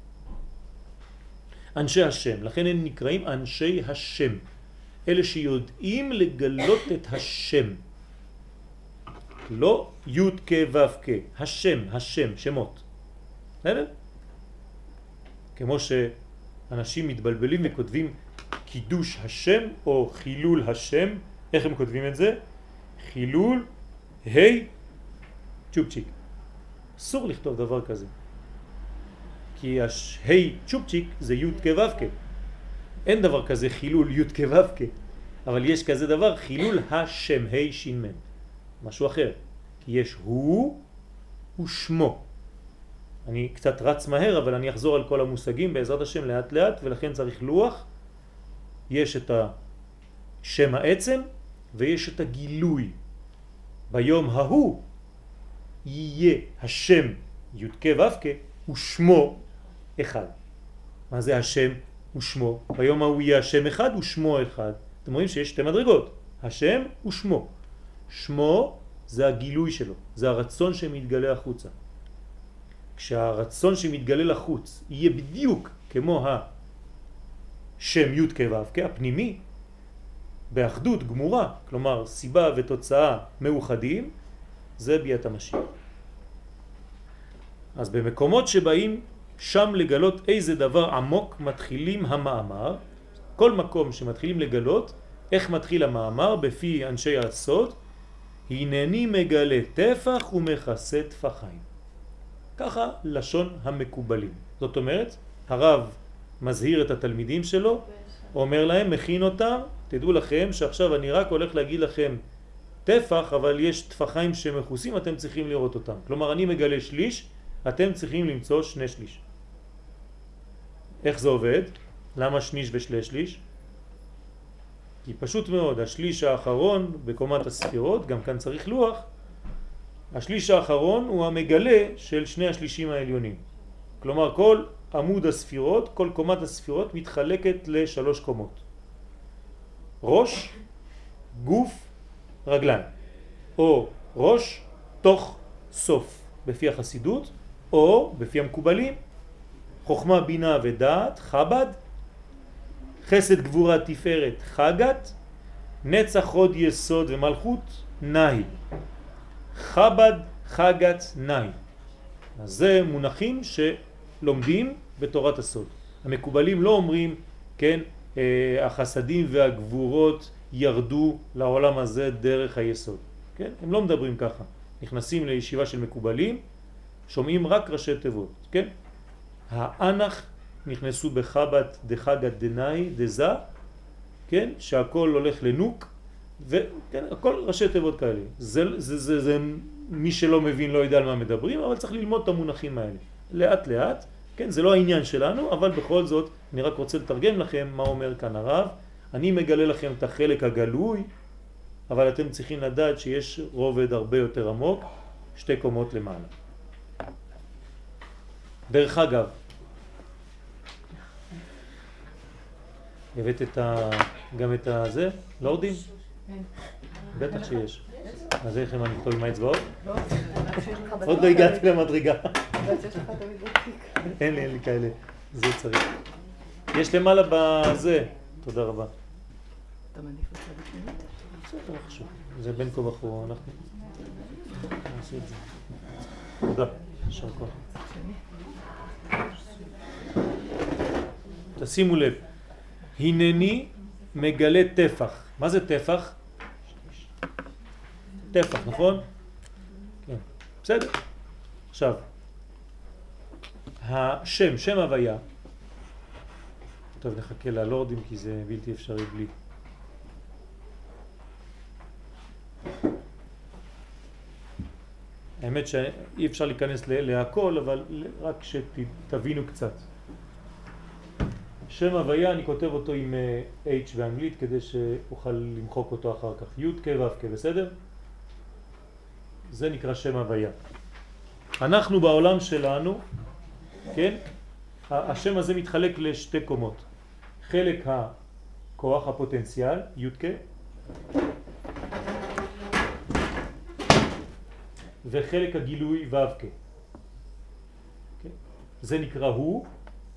אנשי השם, לכן הם נקראים אנשי השם. אלה שיודעים לגלות את השם. לא י' כ' ו' כ', השם, השם, שמות. בסדר? כמו שאנשים מתבלבלים וכותבים קידוש השם או חילול השם. איך הם כותבים את זה? חילול היי צ'ופצ'יק. אסור לכתוב דבר כזה. כי היי צ'ופצ'יק זה י' כ' ו' כ'. אין דבר כזה חילול י' כ' ו' כ'. אבל יש כזה דבר חילול השם, היי שין מן. משהו אחר. כי יש הוא ושמו. אני קצת רץ מהר אבל אני אחזור על כל המושגים בעזרת השם לאט לאט, ולכן צריך לוח. יש את השם העצם ויש את הגילוי. ביום ההוא יהיה השם י' כ' ו' כ' ושמו אחד. מה זה השם ושמו? ביום ההוא יהיה השם אחד ושמו אחד. אתם רואים שיש שתי מדרגות, השם ושמו. שמו זה הגילוי שלו, זה הרצון שמתגלה החוצה. כשהרצון שמתגלה לחוץ יהיה בדיוק כמו השם י' כ' ו' כ' הפנימי, באחדות גמורה, כלומר סיבה ותוצאה מאוחדים, זה ביאת המשיח. אז במקומות שבאים שם לגלות איזה דבר עמוק מתחילים המאמר. כל מקום שמתחילים לגלות איך מתחיל המאמר בפי אנשי הסוד, הנני מגלה טפח ומכסה טפחיים. ככה לשון המקובלים. זאת אומרת, הרב מזהיר את התלמידים שלו, אומר להם, מכין אותם, תדעו לכם שעכשיו אני רק הולך להגיד לכם טפח, אבל יש טפחיים שמכוסים, אתם צריכים לראות אותם. כלומר, אני מגלה שליש, אתם צריכים למצוא שני שליש. איך זה עובד? למה שניש ושלי שליש? כי פשוט מאוד, השליש האחרון בקומת הספירות, גם כאן צריך לוח, השליש האחרון הוא המגלה של שני השלישים העליונים. כלומר, כל עמוד הספירות, כל קומת הספירות מתחלקת לשלוש קומות. ראש, גוף, רגליים. או ראש, תוך, סוף, בפי החסידות, או בפי המקובלים, חוכמה, בינה ודעת, חב"ד, חסד, גבורה, תפארת, חגת, נצח, חוד, יסוד ומלכות, נאי. חב"ד, חגת, נאי. אז זה מונחים שלומדים בתורת הסוד. המקובלים לא אומרים, כן, החסדים והגבורות ירדו לעולם הזה דרך היסוד. כן? הם לא מדברים ככה. נכנסים לישיבה של מקובלים, שומעים רק ראשי תיבות. כן? האנח נכנסו בחב"ד דחגת דנאי דזה, כן? שהכל הולך לנוק, וכן, הכל ראשי תיבות כאלה. זה, זה, זה, זה, מי שלא מבין לא יודע על מה מדברים, אבל צריך ללמוד את המונחים האלה. לאט לאט, כן? זה לא העניין שלנו, אבל בכל זאת אני רק רוצה לתרגם לכם מה אומר כאן הרב. אני מגלה לכם את החלק הגלוי, אבל אתם צריכים לדעת שיש רובד הרבה יותר עמוק, שתי קומות למעלה. דרך אגב, הבאת את ה... גם את הזה? לורדים? בטח שיש. אז איך אני אכתוב עם האצבעות? עוד לא הגעתי למדרגה. אין לי, אין לי כאלה. זה צריך. יש למעלה בזה. תודה רבה. אתה מניף אותה בפנימית? זה לא חשוב. זה בין כה וכה. אנחנו נעשה את זה. תודה. יישר כוח. תשימו לב. הנני מגלה טפח. מה זה טפח? טפח, נכון? כן. בסדר. עכשיו, השם, שם הוויה. טוב, נחכה ללורדים כי זה בלתי אפשרי בלי. האמת שאי אפשר להיכנס להכל, אבל רק שתבינו קצת. שם הוויה, אני כותב אותו עם H באנגלית כדי שאוכל למחוק אותו אחר כך. י' כ' ו' כ', בסדר? זה נקרא שם הוויה. אנחנו בעולם שלנו, כן? השם הזה מתחלק לשתי קומות. חלק הכוח, הפוטנציאל, י' כ', וחלק הגילוי ו' כ'. כן? זה נקרא הוא,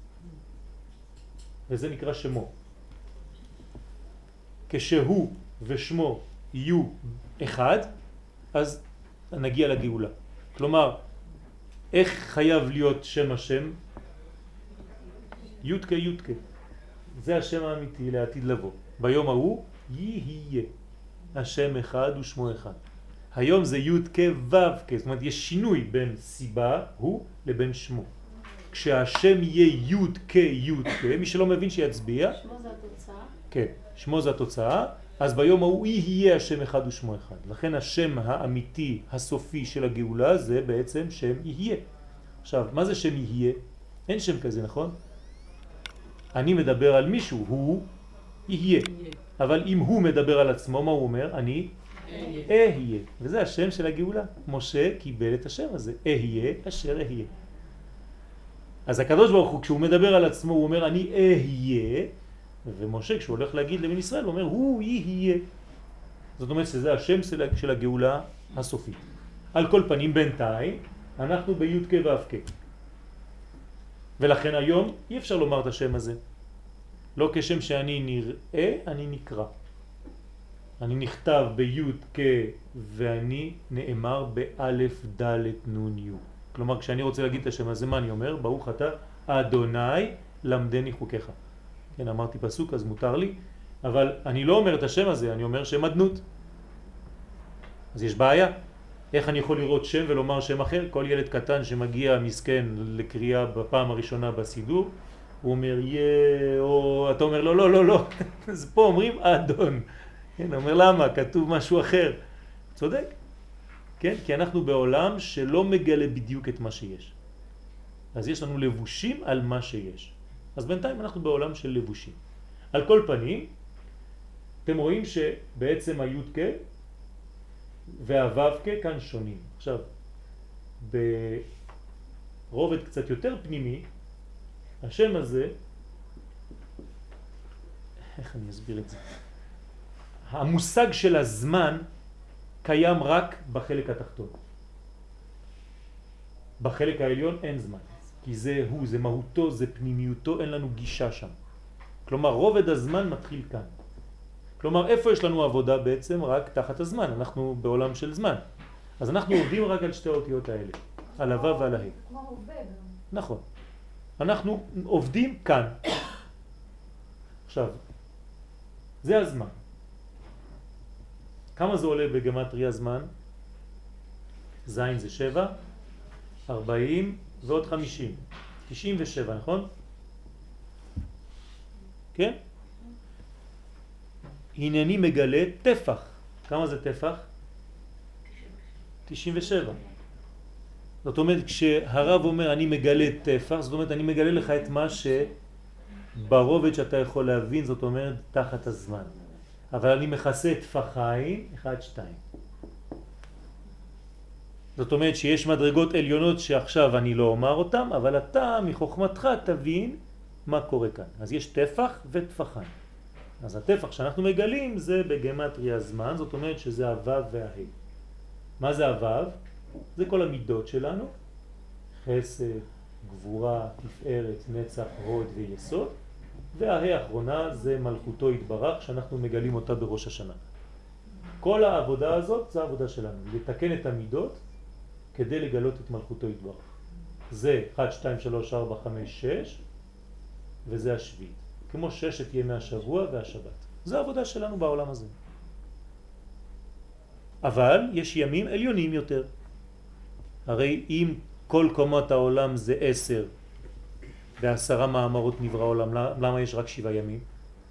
וזה נקרא שמו. כשהוא ושמו יהיו אחד, אז נגיע לגאולה. כלומר, איך חייב להיות שם השם? י' כ' י' כ'. זה השם האמיתי לעתיד לבוא. ביום ההוא יהיה. השם אחד ושמו אחד. היום זה י' כ' ו' כ'. זאת אומרת, יש שינוי בין סיבה, הוא, לבין שמו. כשהשם יהיה י' כ' י' כ', מי שלא מבין שיצביע. שמו זה התוצאה? כן, שמו זה התוצאה. אז ביום ההוא יהיה השם אחד ושמו אחד. לכן השם האמיתי, הסופי של הגאולה זה בעצם שם יהיה. עכשיו, מה זה שם יהיה? אין שם כזה, נכון? אני מדבר על מישהו, הוא יהיה. אבל אם הוא מדבר על עצמו, מה הוא אומר? אני אהיה. וזה השם של הגאולה. משה קיבל את השם הזה. אהיה אשר אהיה. אז הקדוש ברוך הוא, כשהוא מדבר על עצמו, הוא אומר אני אהיה. ומשה, כשהוא הולך להגיד לבן ישראל, הוא אומר הוא יהיה. זאת אומרת שזה השם של הגאולה הסופית. על כל פנים, בינתיים, אנחנו בי' כ' ו' כ'. ולכן היום אי אפשר לומר את השם הזה. לא כשם שאני נראה, אני נקרא. אני נכתב בי' כ' ואני נאמר באלף ד' נ' י'. כלומר, כשאני רוצה להגיד את השם הזה, מה אני אומר? ברוך אתה אדוני למדני חוקיך. כן, אמרתי פסוק, אז מותר לי. אבל אני לא אומר את השם הזה, אני אומר שם אדנות. אז יש בעיה. איך אני יכול לראות שם ולומר שם אחר? כל ילד קטן שמגיע מסכן לקריאה בפעם הראשונה בסידור, הוא אומר יה, או אתה אומר לא, לא, לא, לא. אז פה אומרים אדון. כן, אומר למה? כתוב משהו אחר. צודק. כן, כי אנחנו בעולם שלא מגלה בדיוק את מה שיש. אז יש לנו לבושים על מה שיש. אז בינתיים אנחנו בעולם של לבושים. על כל פנים, אתם רואים שבעצם הי' כ' והו' כ' כאן שונים. עכשיו, ברובד קצת יותר פנימי, השם הזה, איך אני אסביר את זה? המושג של הזמן קיים רק בחלק התחתון. בחלק העליון אין זמן, כי זה הוא, זה מהותו, זה פנימיותו, אין לנו גישה שם. כלומר, רובד הזמן מתחיל כאן. כלומר, איפה יש לנו עבודה בעצם? רק תחת הזמן. אנחנו בעולם של זמן. אז אנחנו עובדים רק על שתי האותיות האלה, על הו' ועל ה'. כמו עובד. נכון. אנחנו עובדים כאן. עכשיו, זה הזמן. כמה זה עולה בגמטריה זמן? זין זה שבע, ארבעים ועוד חמישים. תשעים ושבע, נכון? כן? הנני מגלה טפח. כמה זה טפח? תשעים ושבע. זאת אומרת, כשהרב אומר אני מגלה טפח, זאת אומרת אני מגלה לך את מה ברובד שאתה יכול להבין, זאת אומרת תחת הזמן. אבל אני מכסה טפחיים, אחד, שתיים. זאת אומרת שיש מדרגות עליונות שעכשיו אני לא אומר אותם, אבל אתה מחוכמתך תבין מה קורה כאן. אז יש טפח וטפחיים. אז הטפח שאנחנו מגלים זה בגמטריה זמן, זאת אומרת שזה הוו והה. מה זה הוו? זה כל המידות שלנו, חסד, גבורה, תפארת, נצח, הוד ויסוד, והה האחרונה זה מלכותו יתברך שאנחנו מגלים אותה בראש השנה. כל העבודה הזאת זה העבודה שלנו, לתקן את המידות כדי לגלות את מלכותו יתברך. זה אחת, שתיים, שלוש, ארבע, חמש, שש, וזה השביעית. כמו ששת ימי השבוע והשבת. זה העבודה שלנו בעולם הזה. אבל יש ימים עליונים יותר. הרי אם כל קומות העולם זה עשר, בעשרה מאמרות נברא העולם, למה יש רק שבעה ימים?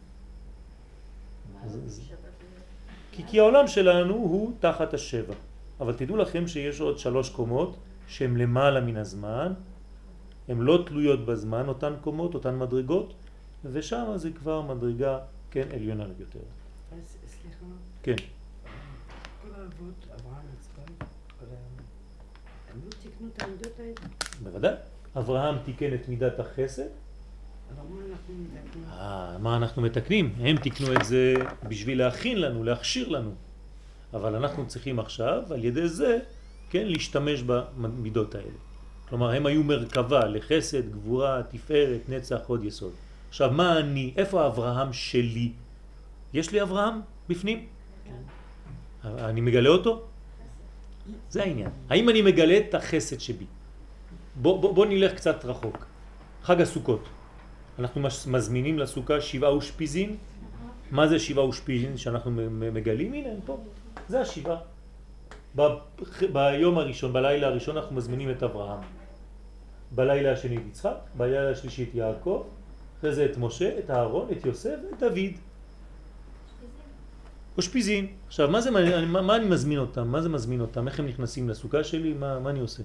כי, כי העולם שלנו הוא תחת השבע. אבל תדעו לכם שיש עוד שלוש קומות שהן למעלה מן הזמן, הן לא תלויות בזמן, אותן קומות, אותן מדרגות, ושם זה כבר מדרגה, כן, עליונה יותר. אז סליחה. כן. כל האבות, אברהם, יצחק, הם לא תיקנו את המידות האלה? בוודאי. אברהם תיקן את מידת החסד. אבל מה אנחנו מתקנים? אה, מה אנחנו מתקנים? הם תיקנו את זה בשביל להכין לנו, להכשיר לנו. אבל אנחנו צריכים עכשיו, על ידי זה, כן, להשתמש במידות האלה. כלומר, הם היו מרכבה לחסד, גבורה, תפארת, נצח, הוד יסוד. עכשיו, מה אני? איפה אברהם שלי? יש לי אברהם בפנים? כן. אני מגלה אותו? זה העניין. האם אני מגלה את החסד שבי? בוא, בוא, בוא נלך קצת רחוק. חג הסוכות. אנחנו מזמינים לסוכה שבעה אושפיזין. מה זה שבעה אושפיזין שאנחנו מגלים? הנה, פה. זה השבעה. ב, ביום הראשון, בלילה הראשון אנחנו מזמינים את אברהם. בלילה השני את יצחק, בלילה השלישי את יעקב, אחרי זה את משה, את אהרון, את יוסף ואת דוד. אושפיזין. עכשיו, מה, זה, מה, מה אני מזמין אותם? מה זה מזמין אותם? איך הם נכנסים לסוכה שלי? מה, מה אני עושה?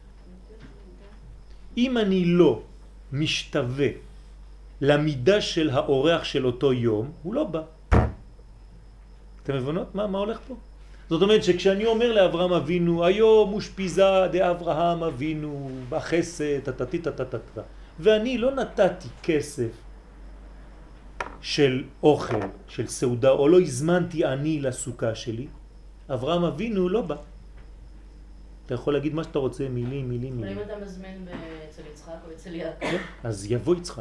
אם אני לא משתווה למידה של האורח של אותו יום, הוא לא בא. אתם מבינות מה, מה הולך פה? זאת אומרת שכשאני אומר לאברהם אבינו, היום אושפיזה דאברהם אבינו, בחסד, תתתי תתתתת, ואני לא נתתי כסף של אוכל, של סעודה, או לא הזמנתי אני לסוכה שלי, אברהם אבינו לא בא. אתה יכול להגיד מה שאתה רוצה, מילים, מילים, מילים. אבל אם אתה מזמין אצל יצחק או אצל יעקב? אז יבוא יצחק.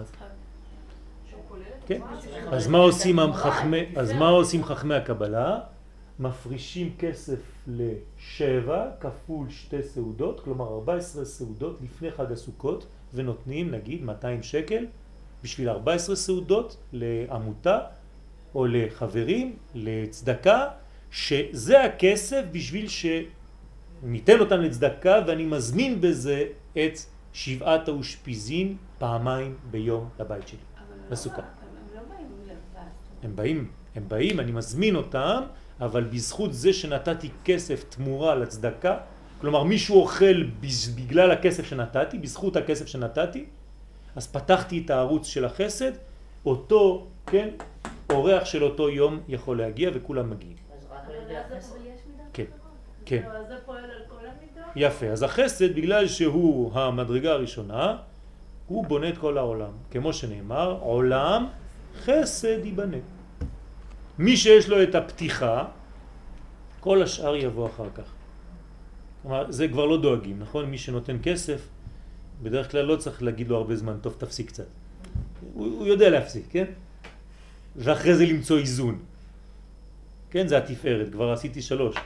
כן. אז מה עושים חכמי, אז מה עושים חכמי הקבלה? מפרישים כסף לשבע כפול שתי סעודות, כלומר ארבע עשרה סעודות לפני חג הסוכות, ונותנים נגיד מאתיים שקל בשביל ארבע עשרה סעודות לעמותה או לחברים, לצדקה, שזה הכסף בשביל שניתן אותם לצדקה, ואני מזמין בזה את שבעת האושפיזין פעמיים ביום לבית שלי, לסוכה. הם לא באים לבד. הם באים, הם באים, אני מזמין אותם, אבל בזכות זה שנתתי כסף תמורה לצדקה, כלומר מישהו אוכל בגלל הכסף שנתתי, בזכות הכסף שנתתי, אז פתחתי את הערוץ של החסד, אותו, כן, אורח של אותו יום יכול להגיע וכולם מגיעים. אז רק על ידי החסד? כן, כן. אז זה פועל על כל המידות? יפה, אז החסד בגלל שהוא המדרגה הראשונה, הוא בונה את כל העולם. כמו שנאמר, עולם חסד ייבנה. מי שיש לו את הפתיחה, כל השאר יבוא אחר כך. כלומר, זה כבר לא דואגים, נכון? מי שנותן כסף, בדרך כלל לא צריך להגיד לו הרבה זמן, טוב תפסיק קצת. הוא, הוא יודע להפסיק, כן? ואחרי זה למצוא איזון. כן, זה התפארת, כבר עשיתי שלוש.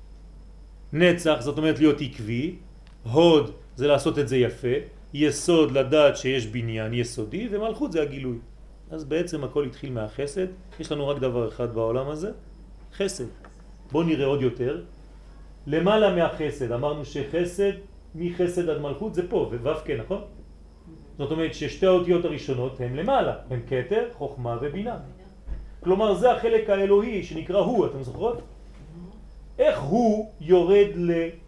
נצח, זאת אומרת להיות עקבי, הוד זה לעשות את זה יפה, יסוד לדעת שיש בניין יסודי, ומלכות זה הגילוי. אז בעצם הכל התחיל מהחסד. יש לנו רק דבר אחד בעולם הזה, חסד. בואו נראה עוד יותר. למעלה מהחסד, אמרנו שחסד, מחסד עד מלכות זה פה, וו' כן, נכון? זאת אומרת ששתי האותיות הראשונות הן למעלה, הן כתר, חוכמה ובינה. כלומר זה החלק האלוהי שנקרא הוא, אתם זוכרות? איך הוא יורד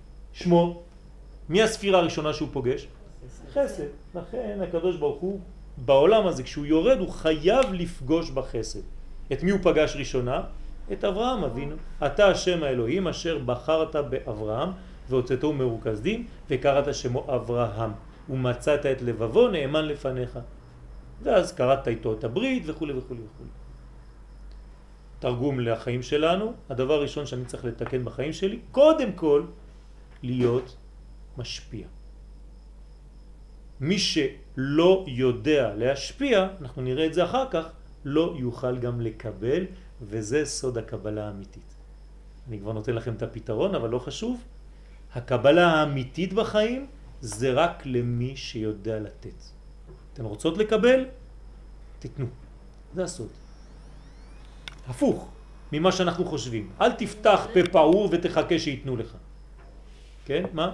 לשמו? מי הספירה הראשונה שהוא פוגש? חסד. לכן הקדוש ברוך הוא בעולם הזה, כשהוא יורד, הוא חייב לפגוש בחסד. את מי הוא פגש ראשונה? את אברהם אבינו. אתה השם האלוהים אשר בחרת באברהם והוצאתו מרוכזים וקראת שמו אברהם ומצאת את לבבו נאמן לפניך. ואז קראת איתו את הברית וכו' וכו' וכו'. תרגום לחיים שלנו, הדבר הראשון שאני צריך לתקן בחיים שלי, קודם כל להיות משפיע. מי שלא יודע להשפיע, אנחנו נראה את זה אחר כך, לא יוכל גם לקבל, וזה סוד הקבלה האמיתית. אני כבר נותן לכם את הפתרון, אבל לא חשוב. הקבלה האמיתית בחיים זה רק למי שיודע לתת. אתן רוצות לקבל? תתנו. זה הסוד. הפוך ממה שאנחנו חושבים. אל תפתח פה פעור ותחכה שיתנו לך. כן? מה?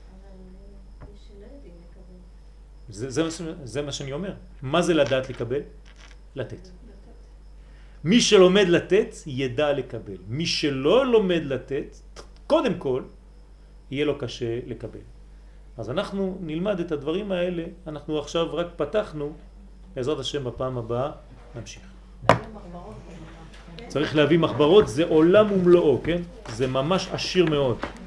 זה, זה, זה מה שאני אומר. מה זה לדעת לקבל? לתת. מי שלומד לתת ידע לקבל. מי שלא לומד לתת, קודם כל, יהיה לו קשה לקבל. אז אנחנו נלמד את הדברים האלה, אנחנו עכשיו רק פתחנו, בעזרת השם בפעם הבאה נמשיך. צריך להביא מחברות, זה עולם ומלואו, כן? זה ממש עשיר מאוד.